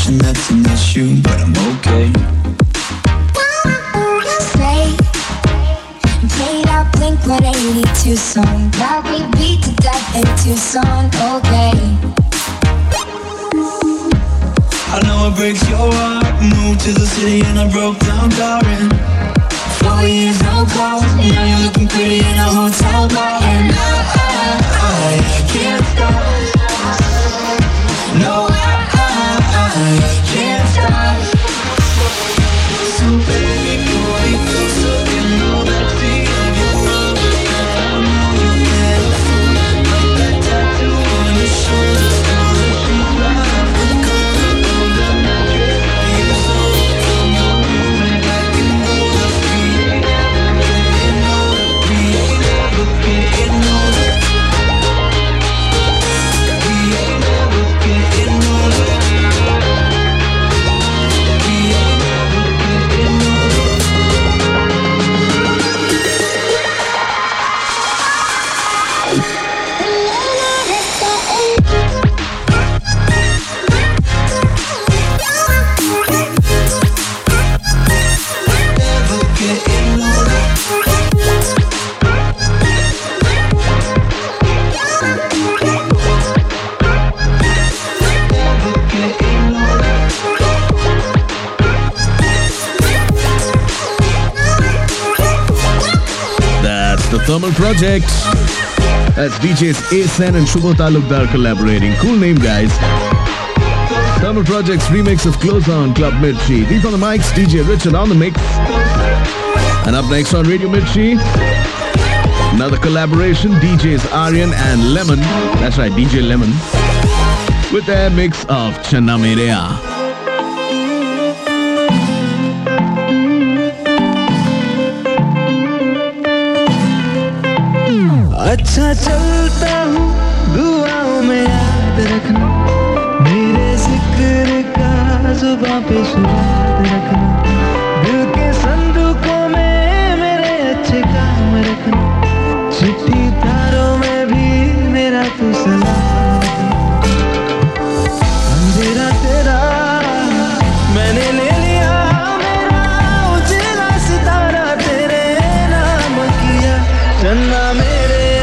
suspicion that's an issue, but I'm okay. Stay and played out Blink-182 song that we beat to death in Tucson, okay. I know it breaks your heart. Moved to the city and I broke down crying. 4 years, no calls. Now you're looking pretty in a hotel bar. And I can't stop. No, I can't stop. So baby, pull me closer. You know that feeling you love. I know you get a fool. Like that tattoo on your shoulder. Now that she's right with the color of the mattress that you sold. From your roommate like you know that we ain't never getting older. We ain't never getting older. We ain't never getting older. Never getting older. Never getting older. That's the Thermal Project. That's DJs A-Sen and Shubho Talukdar collaborating. Cool name, guys. Thermal Project's remix of Close On, Club Mirchi. Deep on the mics, DJ Richard on the mix. And up next on Radio Mirchi, another collaboration, DJs Aryan and Lemon. That's right, DJ Lemon. With their mix of Channa Mereya. अच्छा चलता हूँ दुआओं में याद रखना मेरे जिक्र का जुबां पे याद रखना दिल के संदूकों में मेरे अच्छे काम रखना चिट्ठी तारों में भी मेरा तू सलाम अंधेरा तेरा मैंने ले लिया मेरा उजला सितारा तेरे नाम किया चन्ना मेरे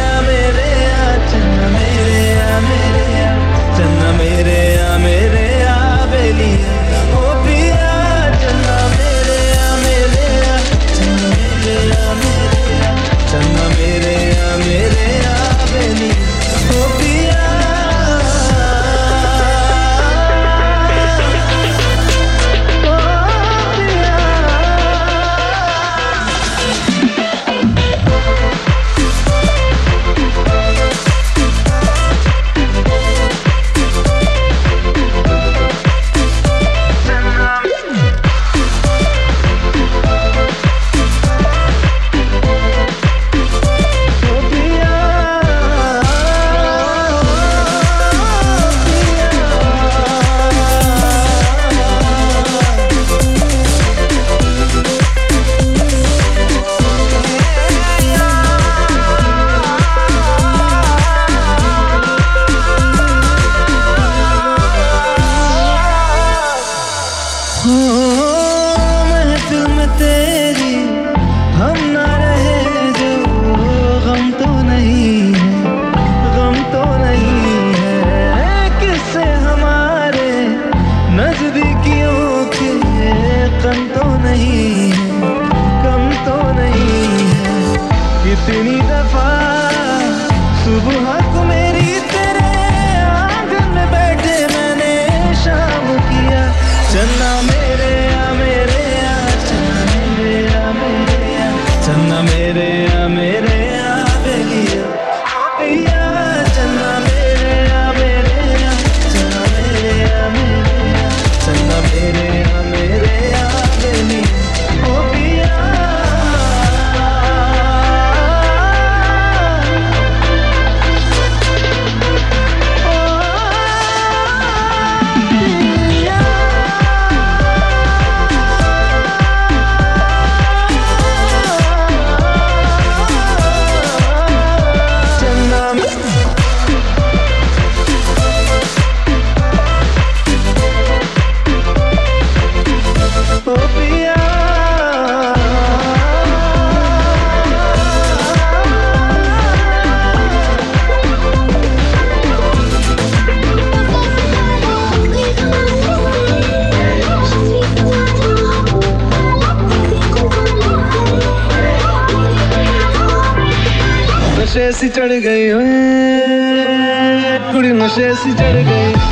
कितनी दफा सुबह को मेरी तेरे आंगन में बैठे मैंने शाम किया चन्ना मेरे सी चढ़ गई कुड़ी नशे सी चढ़ गई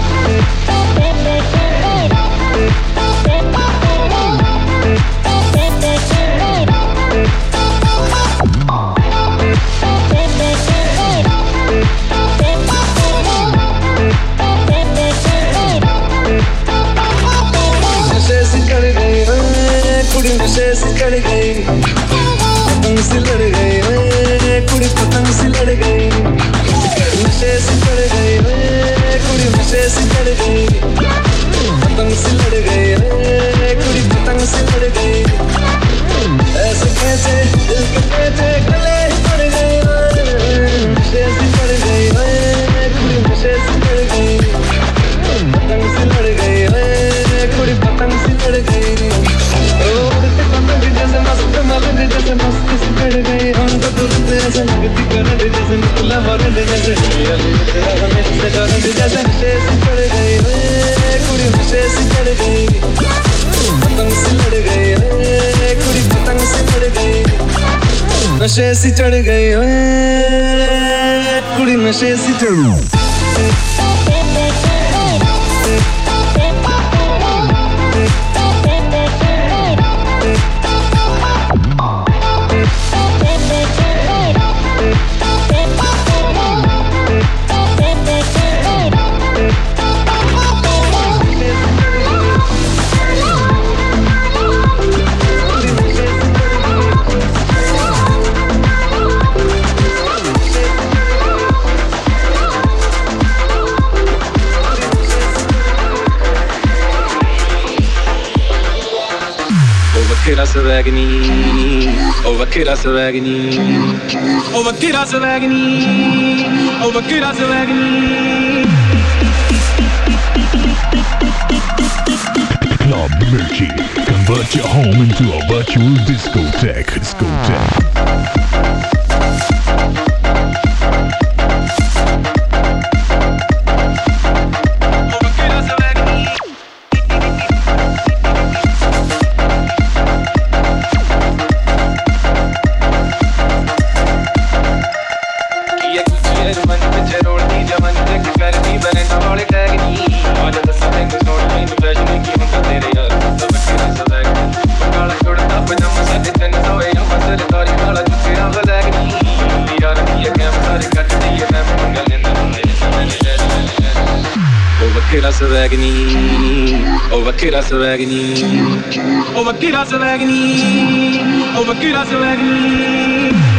कुड़ी नशे से चढ़ गई पतंग से लड़ गई कुड़ी पतंग से लड़ गई नशे से चढ़ गई कुड़ी नशे से चढ़ गई पतंग से लड़ गई कुड़ी पतंग से लड़ गई ऐसे कैसे दिल के पेटे गले पड़ गए नशे से चढ़ गई कुड़ी नशे से चढ़ गई पतंग से लड़ गई कुड़ी पतंग से लड़ गई जैसे मस्त मगन जैसे मस्ती से चढ़ गई हम तो तुझसे ऐसे लगती करंट जैसे निकला वरंट जैसे जैसे नशे से चढ़ गई कुड़ी नशे से चढ़ गई पतंग से लड़ गई कुड़ी पतंग से लड़ गई नशे से चढ़ गई कुड़ी नशे से चढ़ गई Vaquera Savagni, oh Vaquera Savagni, oh Vaquera Savagni, oh Vaquera Savagni. Club Mirchi, convert your home into a virtual discotheque. Vaquera Savagni, oh Vaquera Savagni, oh Vaquera Savagni, oh Vaquera Savagni.